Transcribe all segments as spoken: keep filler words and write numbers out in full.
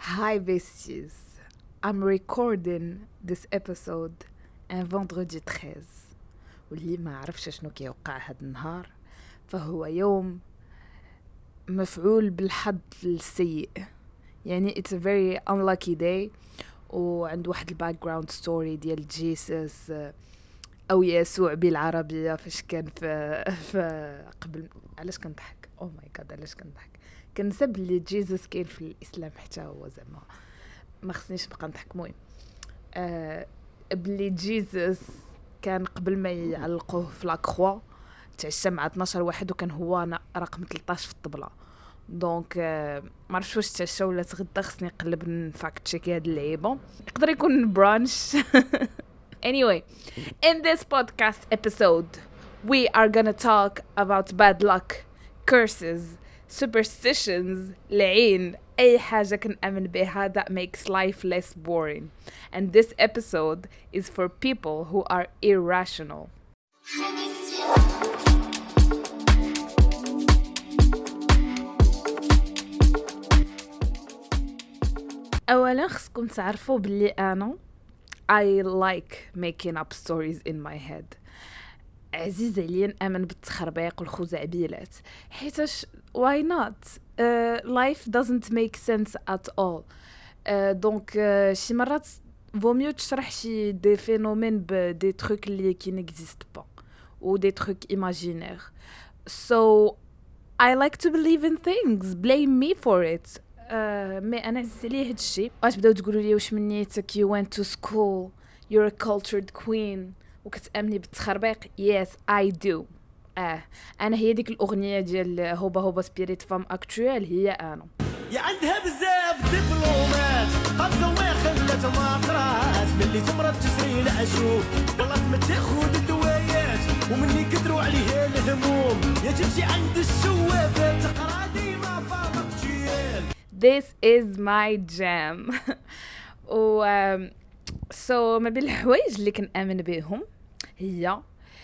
Hi besties, I'm recording this episode un vendredi treize واللي ما عرفش شنو كيوقع هاد النهار فهو يوم مفعول بالحظ السيء. يعني it's a very unlucky day وعند واحد الباك جراوند ستوري ديال جيسس او يسوع بالعربيه فاش كان في, في قبل. علاش كنضحك؟ او ماي جاد علاش كنضحك؟ كنسب لي جيسس كاين في الاسلام حتى هو زعما ما خصنيش نبقى نضحك. المهم آه بلي جيسس كان قبل ما يعلقوه في لاكروا تعشى مع اثناش واحد وكان هو رقم ثلاثطاش في الطبله. دونك آه ما عرفتش واش تعشى ولا تغدى، خصني نقلب نفاكت تشيك هاد اللعيبه، يقدر يكون برانش. Anyway, in this podcast episode we are gonna talk about bad luck, curses, superstitions, لعين، أي حاجة كنأمن بها that makes life less boring. And this episode is for people who are irrational. أولا خصكم تعرفوا باللي أنا I like making up stories in my head. عزيز عليا نأمن بالتخربيق والخزعبيلات حيتاش why not uh, life doesn't make sense at all. دونك uh, uh, شي مرات vaut mieux تشرح شي دي فينومين بدي تروك اللي كي نيكزيست با و دي تروك imaginaire. So I like to believe in things, blame me for it. Uh, مي انا عزيز عليا هاد الشيء. واش بداو تقولوا لي واش منيتك you went to school, you're a cultured queen وكتأمني بالتخربيق. yes I do. اه انا هي ديك الاغنيه ديال هوبا هوبا سبيريت فام اكتوال، هي انا يا عندها بزاف دبلومات قبضه ما خلات ما قرات ملي تمرض تسري العشوب والله ما تاخذ الدوايات ومني كثروا عليها الهموم يا تمشي عند الشوافه تقرا ديما فاضل تشيل. This is my jam. و so ما بين الحوايج اللي كنآمن بهم هي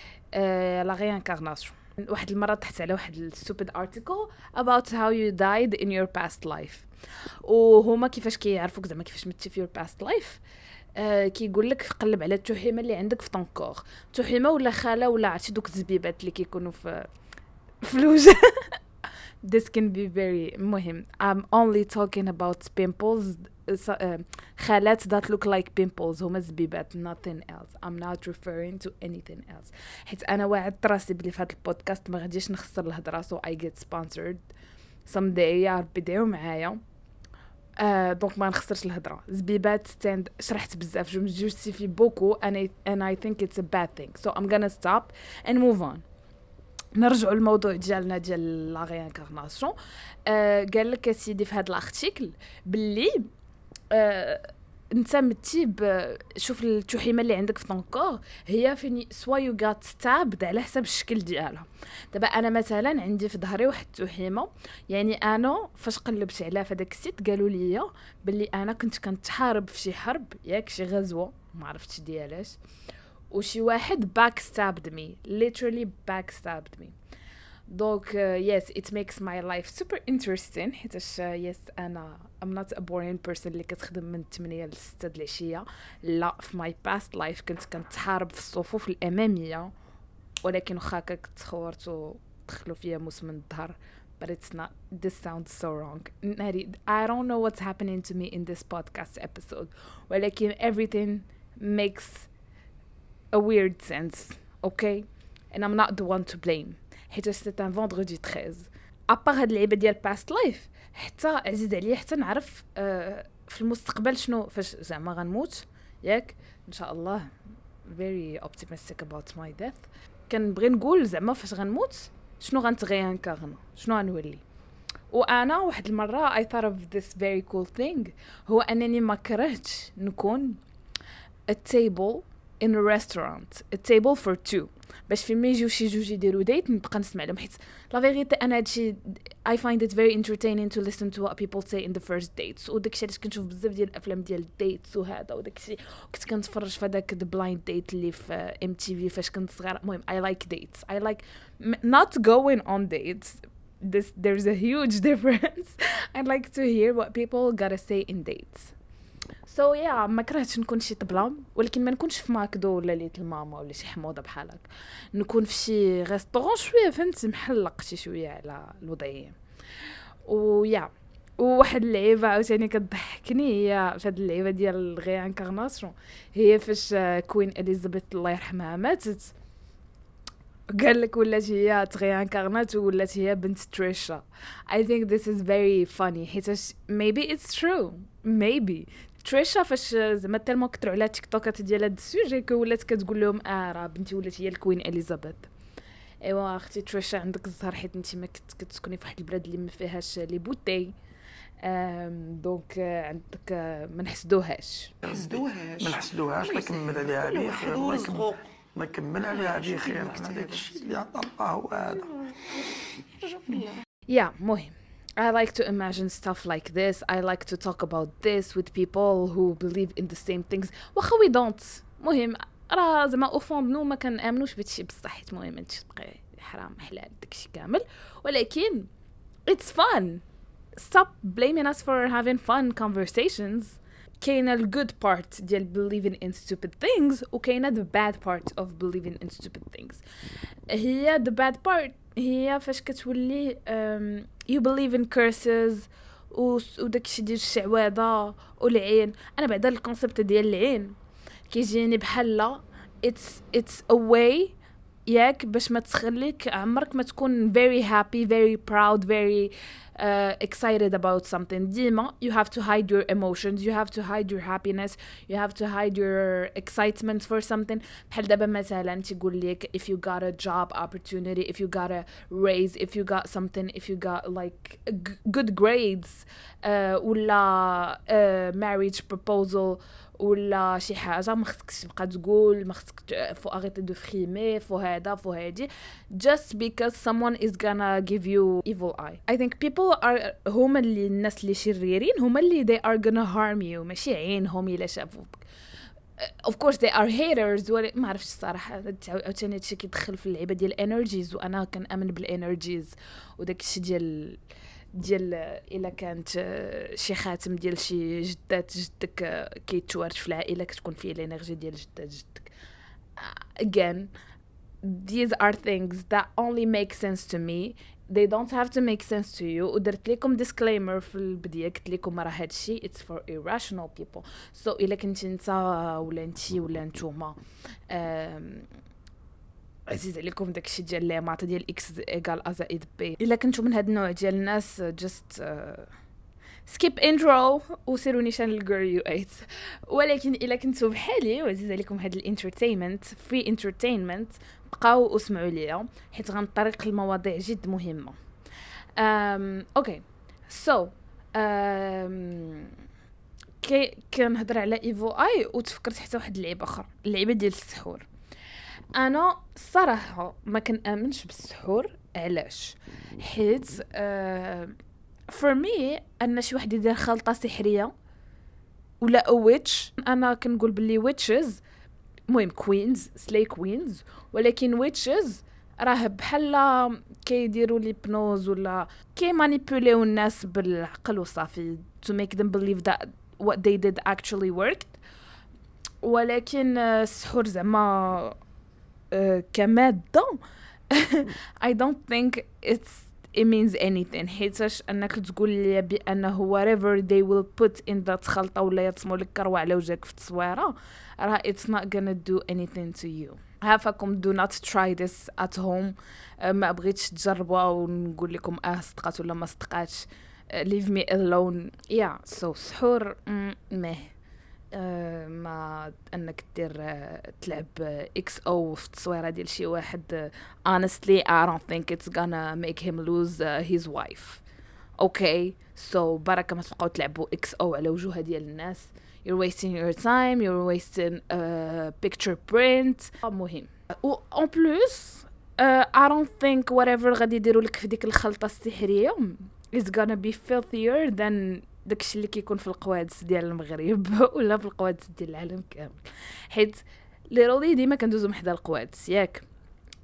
لا ريانكارناسيون. واحد المره تحت على واحد الستوبيد ارتيكل about how you died in your past life وهما كيفاش كيعرفوك زعما كيفاش متي في your past life. آه كيقول لك قلب على التوحيمه اللي عندك في طنكور، توحيمه ولا خاله ولا عرفتي دوك الزبيبات اللي كيكونوا في في الوجه. This can be very مهم. I'm only talking about pimples. Uh, خالات that look like pimples هما زبيبات, nothing else. I'm not referring to anything else. حيت أنا وعدت راسي بلي في هذا البودكاست ما غاديش نخسر الهضرة so I get sponsored someday. يا ربي دعوا معايا. uh, دونك ما نخسرش الهضرة. زبيبات ستاند شرحت بزاف جو مجوستيفي بوكو and I, and I think it's a bad thing so I'm gonna stop and move on. نرجعوا للموضوع ديالنا ديال لا ريانكارناسيون. آه قال لك سيدي في هذا الارتيكل باللي آه انت متي شوف التوحيمه اللي عندك في طنكور هي فين سوا يو غات ستابد على حسب الشكل ديالها. دابا انا مثلا عندي في ظهري واحد التوحيمه، يعني انا فاش قلبت عليها في داك السيت قالوا لي باللي انا كنت كنتحارب في شي حرب ياك شي غزوه ما عرفتش ديالاش وشي واحد backstabbed me, literally backstabbed me. Donc uh, yes, it makes my life super interesting حيتاش uh, yes أنا I'm not a boring person اللي كتخدم من ثمانية ل ستة د العشية. لا، في my past life كنت كنتحارب في الصفوف الأمامية ولكن واخا كتخورت ودخلوا فيا موس من الظهر. But it's not, this sounds so wrong. I don't know what's happening to me in this podcast episode ولكن everything makes a weird sense, okay? And I'm not the one to blame. حيت c'est un vendredi treize. أبار هاد اللعيبة ديال past life حتى عزيز عليا حتى نعرف آه في المستقبل شنو فاش زعما غنموت ياك إن شاء الله. very optimistic about my death. كنبغي نقول زعما فاش غنموت شنو غنتغيانكارنا شنو غنولي. وأنا واحد المرة I thought of this very cool thing هو أنني ما كرهتش نكون a table in a restaurant, a table for two باش في ما يجيو شي جوج يديروا ديت نبقى نسمع لهم. حيت لا فيغيتي انا هادشي I find it very entertaining to listen to what people say in the first dates. وداكشي علاش كنشوف بزاف ديال الافلام ديال الديتس وهذا وداكشي كنت كنتفرج في هذاك the blind date اللي في ام تي في فاش كنت صغيره. المهم I like dates, I like not going on dates this there's a huge difference. I'd like to hear what people gotta say in dates. So yeah, ما كرهتش نكون شي طبلة، ولكن ما نكونش في ماكدو ولا ليت الماما ولا شي حموضه بحال هكا، نكون في شي ريستورون شويه فهمت محلق شي شويه على الوضعيه. ويا وواحد اللعيبه عاوتاني كتضحكني هي في هاد اللعيبه ديال الغي انكارناسيون، هي فاش كوين اليزابيث الله يرحمها ماتت، قال لك ولات هي تغي انكارنات ولات هي بنت تريشا. I think this is very funny حيت maybe it's true maybe تريشا فاش زعما تالمو كثروا على تيك توكات ديال هاد السوجي كو ولات كتقول لهم اه راه بنتي ولات هي الكوين اليزابيث. ايوا اختي تريشا عندك الزهر حيت انت ما كنت كتسكني في واحد البلاد اللي ما فيهاش لي بوتي، ام دونك عندك ما نحسدوهاش ما نحسدوهاش الله يكمل عليها بخير، الله يكمل الله يكمل عليها بخير. هذاك الشيء اللي عطا الله هو هذا. يا مهم I like to imagine stuff like this. I like to talk about this with people who believe in the same things. واخا we don't. مهم راه زعما او فون نو ما كنامنوش بهادشي بصح حيت المهم هادشي بقى حرام حلال داكشي كامل، ولكن it's fun. Stop blaming us for having fun conversations. كاينه ال good part ديال believing in stupid things وكاينه the bad part of believing in stupid things. هي the bad part هي فاش كتولي um, you believe in curses وداكشي ديال الشعوذه والعين. انا بعدا الكونسيبت ديال العين كيجيني بحال لا it's it's a way ياك باش ما تخليك عمرك ما تكون very happy very proud very uh, excited about something. ديما you have to hide your emotions, you have to hide your happiness, you have to hide your excitement for something. بحال دابا مثلا تيقول لك if you got a job opportunity, if you got a raise, if you got something, if you got like good grades uh, ولا uh, marriage proposal ولا شي حاجه ما خصكش تبقى تقول، ما خصك فو اريتي دو فريمي فو هذا فو هادي just because someone is gonna give you evil eye. I think people are هما اللي الناس اللي شريرين هما اللي they are gonna harm you ماشي عينهم الا شافوك. of course they are haters ولا ما عرفتش الصراحه عاوتاني هادشي كيدخل في اللعبه ديال الانرجيز وانا كنامن بالانرجيز وداك الشيء ديال ديال الا كانت شي خاتم ديال شي جدات جدك كيتوارد في العائله كتكون فيه الانرجي ديال جدات جدك. again these are things that only make sense to me, they don't have to make sense to you. ودرت لكم disclaimer في البدايه قلت لكم راه هادشي it's for irrational people. so الا كنتي انت ولا انتي ولا نتوما عزيز عليكم داكشي ديال لي مات ديال اكس ايكال ا زائد بي، الا كنتو من هاد النوع ديال الناس جست سكيب انترو وسيروا نيشان الجير يو ايت. ولكن الا كنتو بحالي وعزيز عليكم هاد الانترتينمنت فري انترتينمنت بقاو واسمعوا ليا حيت غنطرق المواضيع جد مهمه. ام اوكي سو ام كي كنهضر على ايفو اي وتفكرت حتى واحد اللعيبه اخرى، اللعيبه ديال السحور. انا الصراحه ما كنامنش بالسحور. علاش؟ حيت uh, for me ان شي واحد يدير خلطه سحريه ولا ويتش، انا كنقول باللي ويتشز المهم كوينز سلاي كوينز، ولكن ويتشز راه بحال كيديروا لي بنوز ولا كي مانيبيوليو الناس بالعقل وصافي to make them believe that what they did actually worked. ولكن السحور زعما كمادة I don't think it's it means anything. حيتاش انك تقول لي بانه whatever they will put in that خلطة ولا يرسموا لك كروة على وجهك في التصويرة راه it's not gonna do anything to you. عافاكم do not try this at home. ما بغيتش تجربوا ونقول لكم اه صدقات ولا ما صدقاتش. leave me alone. yeah so سحور مه أه ما انك دير أه تلعب اكس او في التصويره ديال شي واحد. honestly I don't think it's gonna make him lose uh, his wife. okay so بركه ما تبقاو تلعبوا اكس او على وجوه ديال الناس. you're wasting your time, you're wasting a picture print. مهم و en plus uh, I don't think whatever غادي يديروا لك في ديك الخلطه السحريه is gonna be filthier than داكشي اللي كيكون في القوادس ديال المغرب ولا في القوادس ديال العالم كامل. حيت لي رولي ديما كندوزو محدا القوادس ياك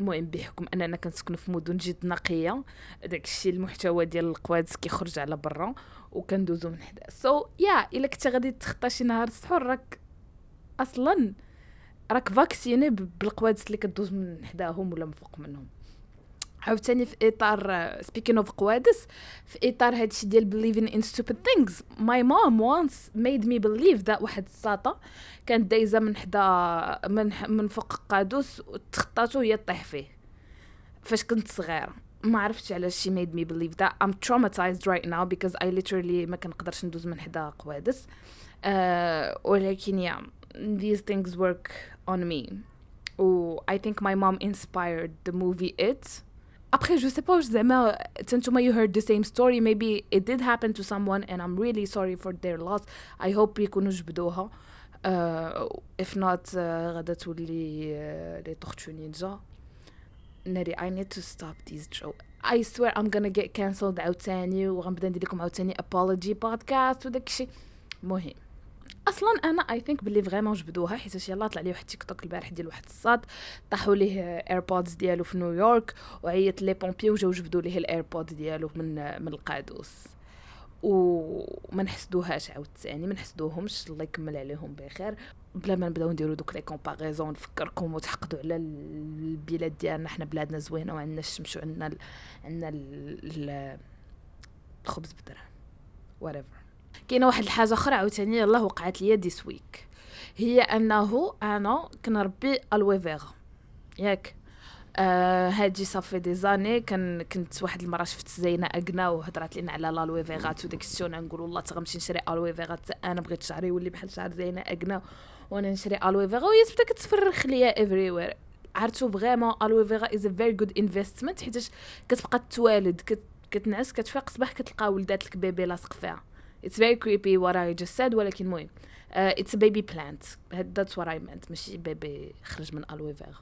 المهم بحكم اننا كنسكنوا في مدن جد نقيه داك الشيء المحتوى ديال القوادس كيخرج على برا وكندوزو من حدا سو so, يا yeah, الا كنت غادي تخطى شي نهار السحور راك اصلا راك فاكسيني بالقوادس اللي كدوز من حداهم ولا من فوق منهم. عاوتاني في اطار speaking of قوادس في اطار هادشي ديال believing in stupid things my mom once made me believe that واحد الساطه كانت دايزه من حدا من من فوق قادوس وتخطاتو هي طيح فيه فاش كنت صغيره ما عرفتش علاش she made me believe that I'm traumatized right now because I literally ما كنقدرش ندوز من حدا قوادس uh, ولكن yeah these things work on me و I think my mom inspired the movie It. Après, je sais pas, زعما تنتوما you heard the same story, maybe it did happen to someone and I'm really sorry for their loss. I hope يكونوا جبدوها. Uh, if not, uh, غادا تولي uh, لي طورتو نينجا. ناري I need to stop these jokes. I swear I'm gonna get cancelled عاوتاني وغنبدا ندير لكم عاوتاني apology podcast وداكشي. مهم. اصلا انا اي ثينك باللي فريمون جبدوها حيت يلاه طلع لي واحد تيك توك البارح ديال واحد الصاد طاحوا ليه ايربودز ديالو في نيويورك وعيط لي بومبي وجاو جبدوا ليه الايربود ديالو من من القادوس وما نحسدوهاش عاوتاني ما نحسدوهمش الله يكمل عليهم بخير بلا ما نبداو نديروا دوك لي كومباريزون نفكركم وتحقدوا على البلاد ديالنا حنا بلادنا زوينه وعندنا الشمس وعندنا ال... عندنا ال... الخبز بالدرهم whatever. كاينه واحد الحاجه اخرى عاوتاني يلاه وقعت لي ديس ويك هي انه انا كنربي الوي فيغا ياك آه هادي صافي دي زاني كان كنت واحد المره شفت زينه اغنا وهضرات لينا على الالوي فيغا وداك الشيء نقول والله تغمشي نشري الوي فيغا انا بغيت شعري يولي بحال شعر زينه اغنا وانا نشري الوي فيغا وهي تبدا كتفرخ ليا افري وير عرفتوا فريمون الوي فيغا از ا فيري جود انفستمنت حيت كتبقى توالد كت كتنعس كتفيق صباح كتلقى ولدات لك بيبي لاصق فيها. It's very creepy what I just said ولكن مهم uh, it's a baby plant that's what I meant ماشي بيبي خرج من الوي فيغا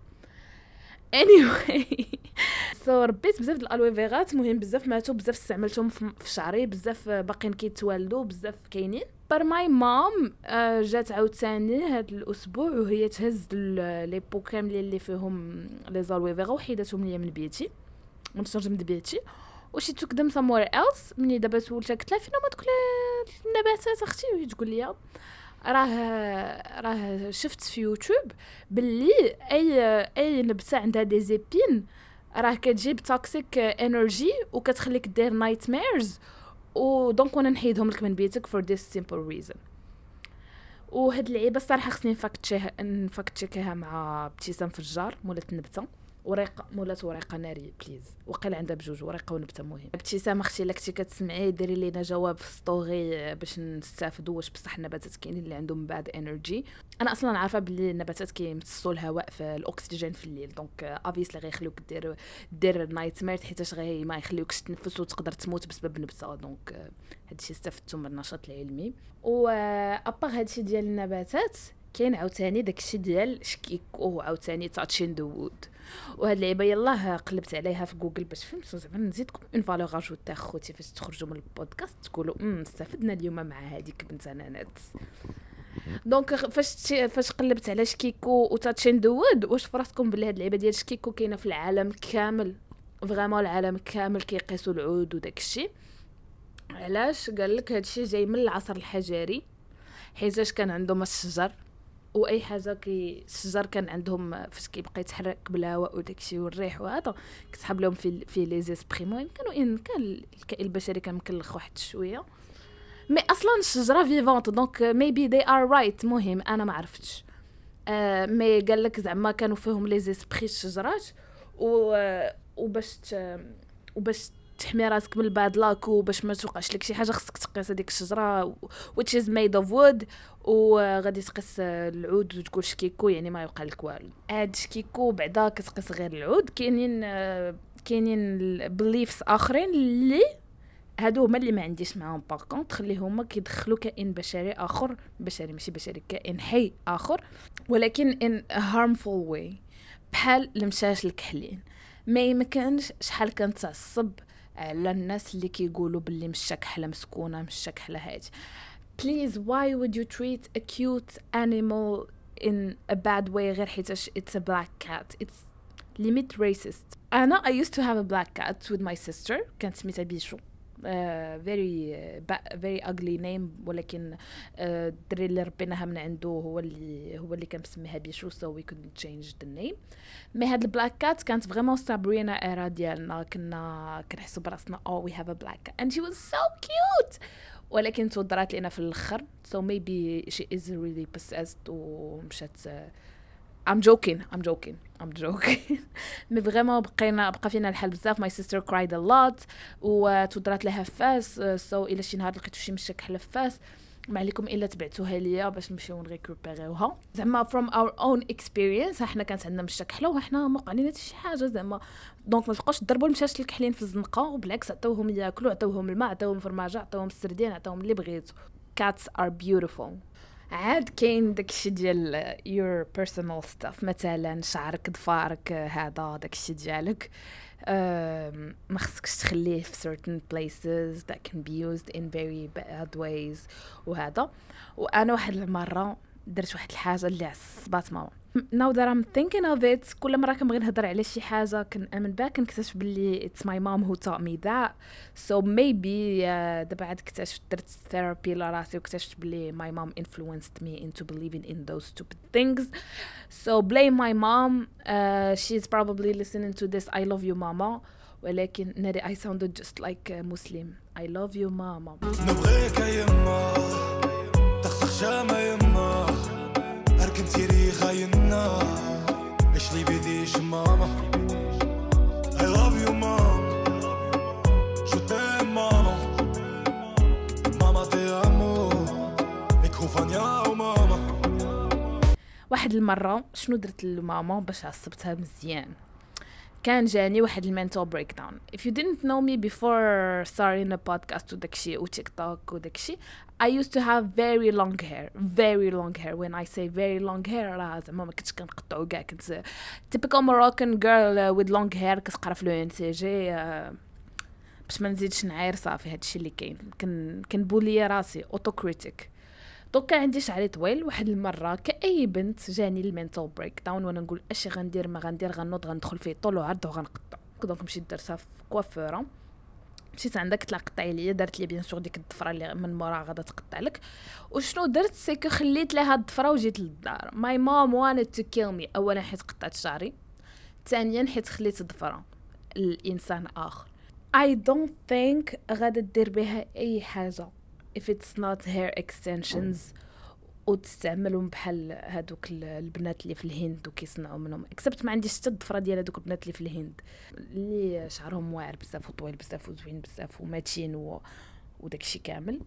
anyway so ربيت بزاف د الالوي فيغات مهم بزاف ماتوا بزاف استعملتهم في شعري بزاف باقيين كيتوالدوا بزاف كاينين بر ماي مام جات عاوتاني هذا الاسبوع وهي تهز لي بو كاملين اللي فيهم لي زالوي فيغا وحيداتهم ليا من بيتي من الشرج من بيتي وشي took them somewhere else مني دابا سولتها قلت لها فين هما دوك النباتات اختي وهي تقول لي راه راه شفت في يوتيوب باللي اي اي نبته عندها دي زيبين راه كتجيب توكسيك انرجي وكتخليك دير نايت ميرز ودونك وانا نحيدهم لك من بيتك for this simple reason. وهاد اللعيبه الصراحه خصني نفاكتشيها نفاكتشيكها مع ابتسام فجار مولات النبته ورقه مولات ورقه ناريه بليز وقيل عندها بجوج ورقه ونبته مهم. ابتسام اختي الا كنتي كتسمعي ديري لينا جواب في ستوري باش نستافدوا واش بصح النباتات كاينين اللي عندهم باد انرجي. انا اصلا عارفه باللي النباتات كيمتصوا الهواء في الاكسجين في الليل دونك اوبيسلي غيخليوك دير دير نايت مير حيت غي ما يخليوكش تنفس وتقدر تموت بسبب نبته دونك هادشي استفدتو من النشاط العلمي. و ابار هادشي ديال النباتات كاين عاوتاني داكشي ديال شكيكو عاوتاني تاتشين دو وود وهاد اللعيبه يلاه قلبت عليها في جوجل باش فهمت زعما نزيدكم اون فالور اجوتي اخوتي فاش تخرجوا من البودكاست تقولوا امم استفدنا اليوم مع هذيك بنت انانات. دونك فاش فاش قلبت على شكيكو وتاتشين دو وود واش فراسكم بلي هاد اللعيبه ديال شكيكو كاينه في العالم كامل فريمون العالم كامل كيقيسوا العود وداكشي. علاش قال لك هادشي جاي من العصر الحجري حيتاش كان عندهم الشجر واي حاجه كي الشجر كان عندهم فاش كيبقى يتحرك بالهواء وداكشي والريح وهذا كتسحب لهم في في لي زيسبري المهم كانوا ان كان الكائن البشري كان مكلخ واحد شويه مي اصلا الشجره فيفونت دونك ميبي دي ار رايت مهم انا ما عرفتش آه مي قال لك زعما كانوا فيهم لي زيسبري الشجرات و وباش وباش تحمي راسك من الباد لاكو باش ما توقعش لك شي حاجه خصك تقيس هذيك الشجره which is made of wood وغادي تقيس العود وتقول شكيكو يعني ما يوقع لك والو. هاد شكيكو بعدا كتقيس غير العود كاينين كاينين بليفز اخرين اللي هادو هما اللي ما عنديش معاهم باغ خلي هما كيدخلوا كائن بشري اخر بشري ماشي بشري كائن حي اخر ولكن in a harmful way بحال المشاش الكحلين. ما يمكنش شحال كنتعصب على الناس اللي كيقولوا باللي مش كحله مسكونه مش كحله هادي. Please why would you treat a cute animal in a bad way غير حيتاش it's a black cat. It's limit racist. أنا I used to have a black cat with my sister كانت سميتها بيشو. Uh, very uh, very ugly name ولكن الدري uh, اللي ربيناها من عنده هو اللي هو اللي كان مسميها بيشو so we couldn't change the name. مي هاد البلاك كات كانت فريمون سابرينا ايرا ديالنا كنا كنحسوا براسنا oh we have a black cat and she was so cute ولكن تودرات لنا في الاخر so maybe she is really possessed ومشات uh, I'm joking I'm joking I'm joking مي فريمون بقينا بقى فينا الحال بزاف. my sister cried a lot وتودرات لها فاس so الا شي نهار لقيتو شي مشاك حل فاس ما عليكم الا تبعتوها ليا باش نمشيو نريكوبيريوها زعما from our own experience. حنا كانت عندنا مشاك حلا وحنا ما وقع لنا حتى شي حاجه زعما دونك ما تبقاوش تضربوا المشاش الكحلين في الزنقه وبالعكس عطاوهم ياكلوا عطاوهم الماء عطاوهم فرماجه عطاوهم السردين عطاوهم اللي بغيتو. cats are beautiful. عاد كاين داكشي ديال your personal stuff مثلا شعرك ضفارك هذا داكشي ديالك ما خصكش تخليه في certain places that can be used in very bad ways وهذا. وانا واحد المره درت واحد الحاجه اللي عصبات ماما. now that I'm thinking of it كل مره كنبغي نهضر على شي حاجه كنامن بها كنكتشف باللي it's my mom who taught me that so maybe uh, دابا عاد اكتشفت درت therapy لراسي واكتشفت باللي my mom influenced me into believing in those stupid things so blame my mom. uh, she's probably listening to this I love you mama ولكن ناري I sounded just like a Muslim. I love you mama. نبغيك يما تخسخ جامع يما أركن تيري خايننا إيش لي بديش ماما I love you mom شو تيم ماما ماما تي أمو إكوفان يا ماما. واحد المرة شنو درت لماما باش عصبتها مزيان كان جاني واحد المنتال بريك داون. if you didn't know me before starting a podcast وداكشي وتيك توك وداكشي I used to have very long hair very long hair. when I say very long hair راه زعما ما كنتش كنقطعو كاع كنت typical Moroccan girl with long hair كتقرا في لو ان سي جي باش ما نزيدش نعاير صافي هادشي اللي كاين كن كنبولي راسي اوتوكريتيك. دوكا عندي شعري طويل. واحد المره كاي بنت جاني المينتال بريك داون وانا نقول اش غندير ما غندير غنوض غندخل فيه طول وعرض وغنقطع. دونك مشيت درتها في كوافوره مشيت عندك تلا قطعي ليا دارت لي بيان سور ديك الضفره اللي من مورا غادا تقطع لك. وشنو درت سيكو خليت لها الضفره وجيت للدار. ماي مام wanted to kill me. اولا حيت قطعت شعري ثانيا حيت خليت الضفره الانسان اخر. I don't think غادا دير بها اي حاجه if it's not hair extensions وتستعملهم بحال هادوك البنات اللي في الهند وكيصنعوا منهم اكسبت ما عنديش حتى الضفره ديال هادوك البنات اللي في الهند اللي شعرهم واعر بزاف وطويل بزاف وزوين بزاف وماتشين و... وداكشي كامل.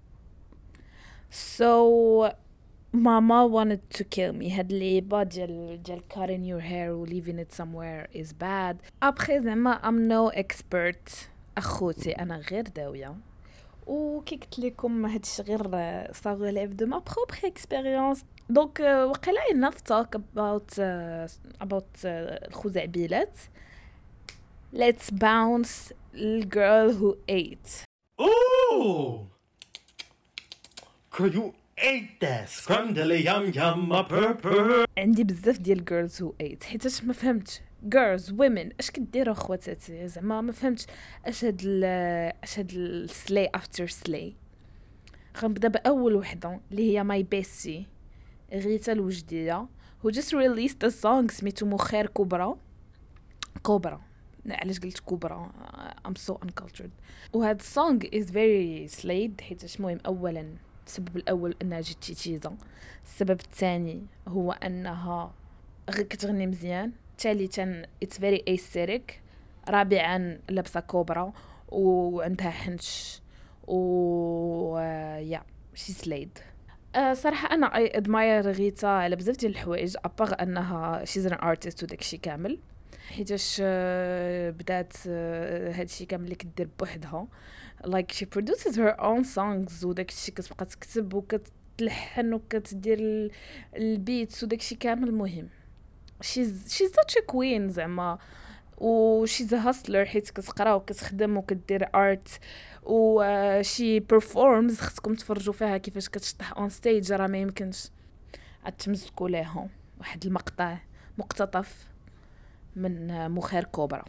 so mama wanted to kill me. هاد اللعيبه ديال ديال cutting your hair و leaving it somewhere is bad. après زعما I'm no expert اخوتي انا غير داويه وكي قلت لكم هادشي غير صار لعب دو ما بروبر اكسبيريونس. دونك وقيلا enough talk about uh, about uh, الخزعبيلات. let's bounce the girl who ate. Ooh! Could you ate that scrumdiddly yum yum a purpur. عندي بزاف ديال girls who ate حيتاش ما فهمتش girls women اش كديروا خواتاتي زعما ما فهمتش اش هاد اش هاد السلاي افتر سلاي. غنبدا باول وحده اللي هي ماي بيسي غيتا الوجديه who just released a song سميتو مخير كبرى كبرى علاش قلت كبرى I'm so uncultured. وهاد السونغ is very slayed حيتاش مهم اولا السبب الاول انها جات تيتيزا. السبب الثاني هو انها كتغني مزيان. ثالثا it's very aesthetic. رابعا لابسه كوبرا وعندها حنش و يا شي سلايد. أه صراحه انا اي ادماير غيتا على بزاف ديال الحوايج ابار انها شيز ان ارتست وداكشي كامل حيتاش بدات هادشي كامل اللي كدير بوحدها like she produces her own songs وداكشي كتبقى تكتب وكتلحن وكتدير البيتس وداكشي كامل. مهم she's she's such a queen زعما و she's a hustler حيت كتقرا وكتخدم وكدير art و uh, she performs. خصكم تفرجوا فيها كيفاش كتشطح on stage راه ما يمكنش تمزكوا ليها. واحد المقطع مقتطف من مخير كوبرا.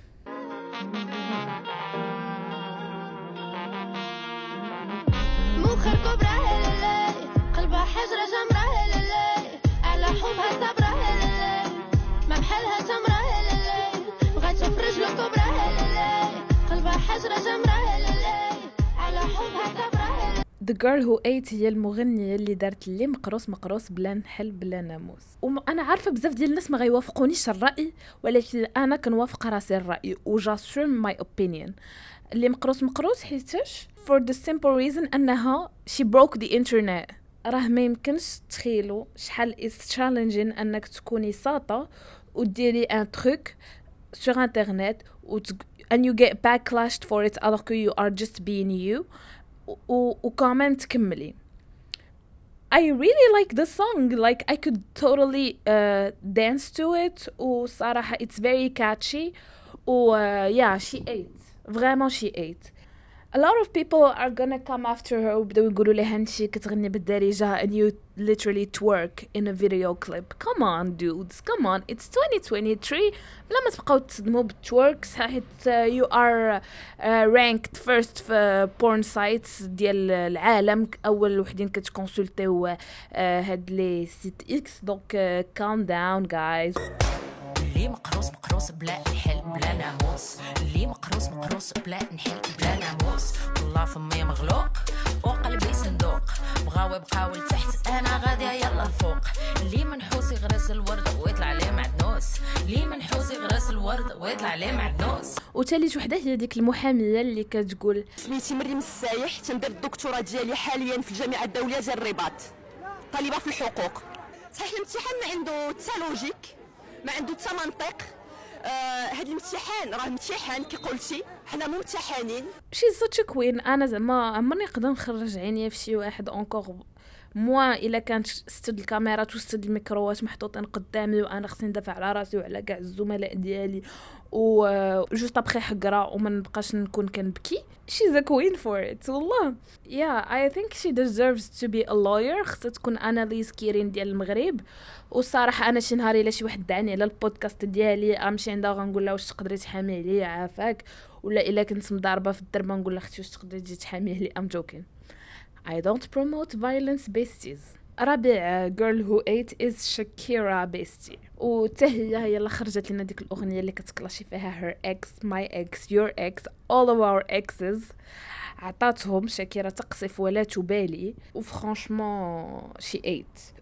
مخير كوبرا هلالي قلبها حجرة جمرة هلالي على حبها صبرة هلالي ما بحالها تمرة هلالي بغات تشوف رجل كوبرا هلالي قلبها حجرة جمرة هلالي على حبها صبرة هلالي. The Girl Who Ate هي المغنية اللي دارت اللي مقروس مقروس بلا نحل بلا ناموس. وأنا عارفة بزاف ديال الناس ما غيوافقونيش الرأي، ولكن أنا كنوافق راسي الرأي و j'assume my opinion. اللي مقروس مقروس حيتاش for the simple reason أنها she broke the internet. راه ما يمكنش تخيلوا شحال is challenging أنك تكوني ساطة وديري un truc sur internet و and you get backlashed for it alors que you are just being you و وكمان تكملي. I really like the song, like I could totally uh, dance to it وصراحة it's very catchy و uh, yeah she ate vraiment she ate. A lot of people are gonna come after her وبداو يقولوا لها انتي كتغني بالدارجة and you literally twerk in a video clip. Come on dudes, come on, it's twenty twenty-three. بلا ما تبقاو تصدموا بالتوركس حيت you are uh, ranked first في porn sites ديال العالم، اول وحدين كتكونسلتيو uh, هاد لي سيت اكس. دونك uh, calm down guys. اللي مقروس مقروس بلا نحل بلا ناموس، اللي مقروس مقروس بلا نحل بلا ناموس، والله فمي مغلوق وقلبي صندوق، بغاو يبقاو لتحت انا غاديه يلا الفوق، اللي منحوس يغرس الورد ويطلع ليه معدنوس، اللي منحوس يغرس الورد ويطلع ليه معدنوس. وثالث وحده هي ديك المحاميه اللي كتقول سميتي مريم السايح، تندير الدكتوراه ديالي حاليا في الجامعه الدوليه ديال الرباط، طالبه في الحقوق. صحيح الامتحان ما عنده حتى لوجيك، ما عنده حتى منطق. هاد آه الامتحان راه امتحان كي قلتي، حنا ممتحنين. شي such a queen. انا زعما عمرني نقدر نخرج عينيا في شي واحد اونكور موا الا كانت ستد الكاميرات وستد الميكروات محطوطين قدامي وانا خصني ندافع على راسي وعلى كاع الزملاء ديالي و جوست ابخي حقره وما نبقاش نكون كنبكي. she's a queen for it والله. yeah I think she deserves to be a lawyer. خصها تكون اناليز كيرين ديال المغرب. والصراحه انا شي نهار الا شي واحد دعني على البودكاست ديالي امشي عندها غنقول لها واش تقدري تحامي عليا عافاك، ولا الا كنت مضاربه في الدرب نقول لها اختي واش تقدري تجي تحامي عليا. I'm joking. I don't promote violence besties. رابع girl who ate is Shakira bestie. وتهي هي اللي خرجت لنا ديك الأغنية اللي كتكلاشي فيها her ex, my ex, your ex, all of our exes. عطاتهم شاكيرا تقصف ولا تبالي وفرانشمون she ate.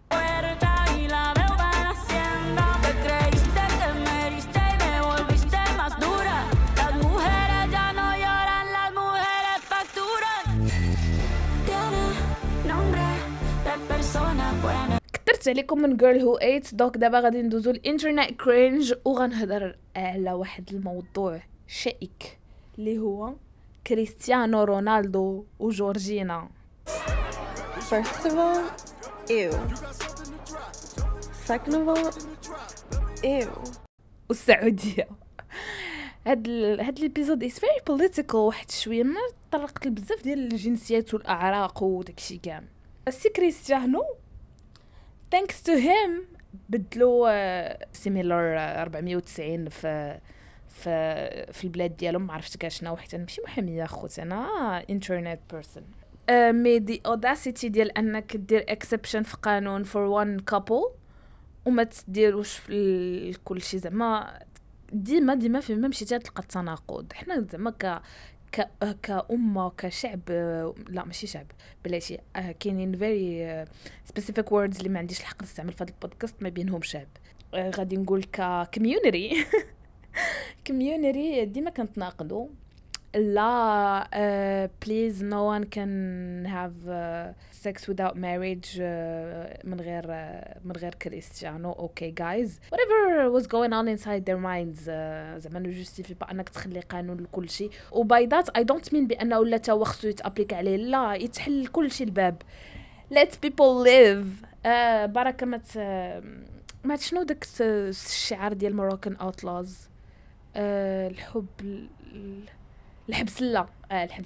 كثرت عليكم من girl who ate. دوك دابا غادي ندوزو الانترنت كرينج وغنهضر على واحد الموضوع شائك اللي هو كريستيانو رونالدو وجورجينا. First of all, ew. Second of all, ew. والسعودية. هاد ال... هاد الابيزود is very political واحد شويه، ما طرقت بزاف ديال الجنسيات والاعراق وداكشي كاع. السي كريستيانو thanks to him بدلوا سيميلر أربعمية وتسعين في في في البلاد ديالهم. ما عرفت كاع شنو، حيت انا ماشي محاميه اخوتي، انا انترنت بيرسون. مي دي اوداسيتي ديال انك دير اكسبشن في قانون فور one couple وما تديروش في كل شيء. زعما ديما ديما فين مشيتي تلقى التناقض. حنا زعما ك ك كأمة كشعب، لا ماشي شعب بلاتي، كاينين very specific words اللي ما عنديش الحق نستعمل في هذا البودكاست، ما بينهم شعب. غادي نقول ك community community ديما كنتناقضوا. لا uh, please no one can have uh, sex without marriage uh, من غير uh, من غير كريستيانو. okay guys, whatever was going on inside their minds. uh, زعما نو جوستيفي با انك تخلي قانون لكل شيء. وباي ذات I don't mean بانه ولا تا خصو يتابليك عليه، لا يتحل كل شيء الباب. let people live. uh, بركه ما ما شنو داك الشعار ديال مروكان اوتلاز، uh, الحب ال... الحبس لا آه الحبس لا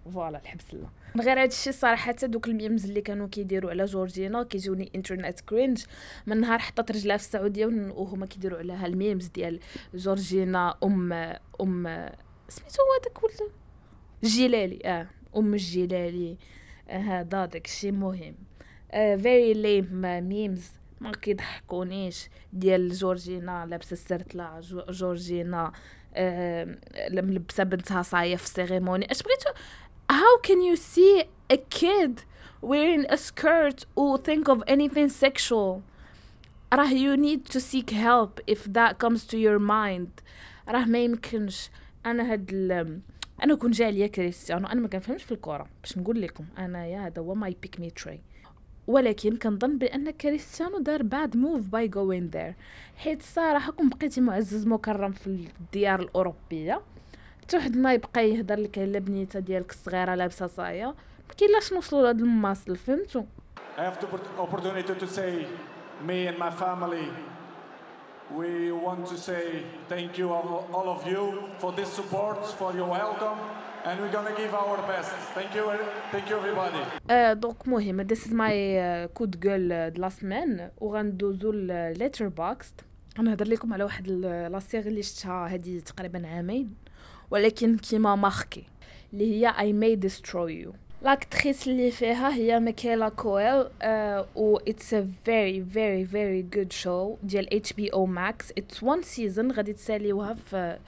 فوالا الحبس لا من غير هذا الشيء صراحه دوك الميمز اللي كانوا كيديروا على جورجينا كيجوني انترنت كرينج. من نهار حطت رجلها في السعوديه وهما كيديروا عليها الميمز ديال جورجينا ام ام سميتو هذاك ولا الجلالي اه ام الجلالي هذا آه داك الشيء مهم. فيري ليم ميمز ما كيضحكونيش ديال جورجينا لابسه السرتله جورجينا آه ملبسه بنتها صايه في السيريموني. اش بغيتو how can you see a kid wearing a skirt or think of anything sexual؟ راه you need to seek help if that comes to your mind. راه ما يمكنش. انا هاد ال... انا كون جا عليا كريستيانو انا ما كنفهمش في الكره باش نقول لكم انا يا هذا هو ماي بيك مي تري، ولكن كنظن بان كريستيانو دار باد موف باي جوين ذير، حيت الصراحه كون بقيتي معزز مكرم في الديار الاوروبيه حتى واحد ما يبقى يهضر لك على بنيته ديالك الصغيره لابسه صايه ما كاينلاش نوصلوا لهاد الماصل فهمتوا. I have the opportunity to say me and my family we want to say thank you all, all of you for this support, for your welcome, and we're gonna give our best. Thank you, thank you everybody. Uh, دونك مهم this is my uh, good girl de la semaine وغندوزو ل letterboxd. غنهضر لكم على واحد لا سيري اللي شفتها هذه تقريبا عامين ولكن كيما ماركي اللي هي I May Destroy You. لاكتريس اللي فيها هي ميكيلا كويل uh, و it's a very very very good show ديال إتش بي أو Max. it's one season غادي تساليوها في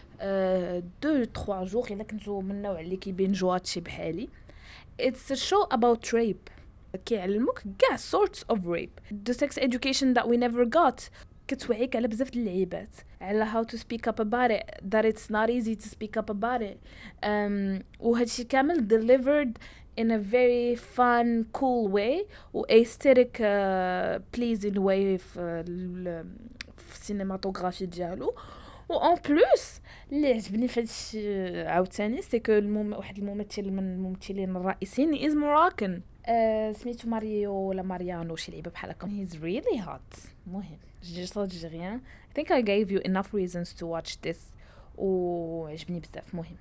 دو تخوا جوغ الا كنتو من النوع اللي كيبينجو هادشي بحالي. it's a show about rape كيعلموك كاع sorts of rape, the sex education that we never got. كتوعيك على بزاف د اللعيبات على how to speak up about it, that it's not easy to speak up about it. um, وهادشي كامل delivered in a very fun cool way و aesthetic uh, pleasing way في في السينماتوغرافي ديالو. و en plus اللي عجبني في هادشي عاوتاني سي كو المم... واحد الممثل من الممثلين الرئيسيين is Moroccan uh, سميتو ماريو ولا ماريانو شي لعيبه بحال هكا. he's really hot. مهم just algérien. I think I gave you enough reasons to watch this وعجبني بزاف. مهم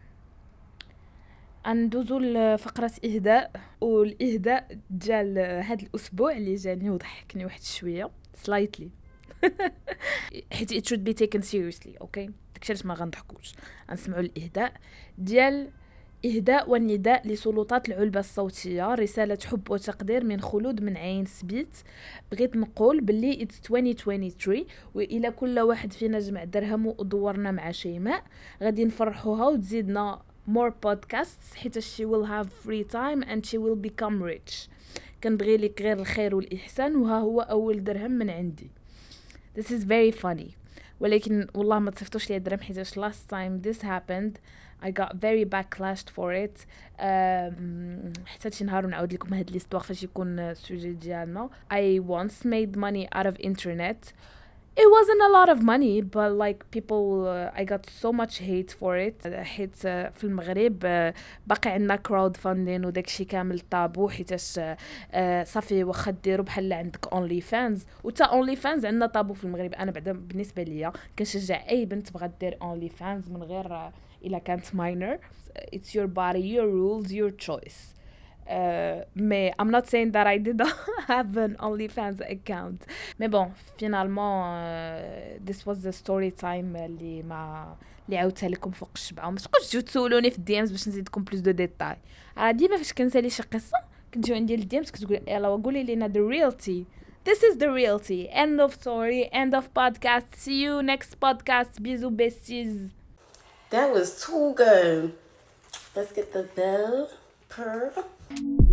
ندوزو لفقرة إهداء، والإهداء جال هاد الأسبوع اللي جاني وضحكني واحد شوية slightly حيت it should be taken seriously. okay داكشي ما غنضحكوش. غنسمعوا الإهداء ديال إهداء والنداء لسلطات العلبة الصوتية، رسالة حب وتقدير من خلود من عين سبيت. بغيت نقول باللي it's twenty twenty-three وإلى كل واحد فينا جمع درهم ودورنا مع شيماء غادي نفرحوها وتزيدنا more podcasts حيت she will have free time and she will become rich. كنبغي لك غير الخير والإحسان وها هو أول درهم من عندي. This is very funny ولكن والله ما تصيفطوش لي درهم حيت last time this happened I got very backlashed for it. um, حتى شي نهار نعاود لكم هاد ليستوار فاش يكون السوجي ديالنا. I once made money out of internet. It wasn't a lot of money but like people uh, I got so much hate for it حيت uh, في المغرب uh, باقي عندنا crowd funding وداكشي كامل طابو حيتاش uh, صافي واخا ديروا بحال عندك only fans وتا only fans عندنا طابو في المغرب. انا بعدا بالنسبه ليا كنشجع اي بنت بغات دير only fans من غير uh, الا كانت minor. It's your body, your rules, your choice. Uh, mais I'm not saying that I did have an OnlyFans account. Mais bon, finalement, uh, this was the story time اللي ما اللي عاودتها لكم فوق الشبعة. وما تبقاوش تجيو تسولوني في الديامز باش نزيدكم بلوس دو ديتاي. راه ديما فاش كنسالي شي قصة كتجيو عندي الديامز كتقول يلا وقولي لينا the reality. This is the reality. End of story. End of podcast. See you next podcast. Bisous besties. That was too good. Let's get the bell purr.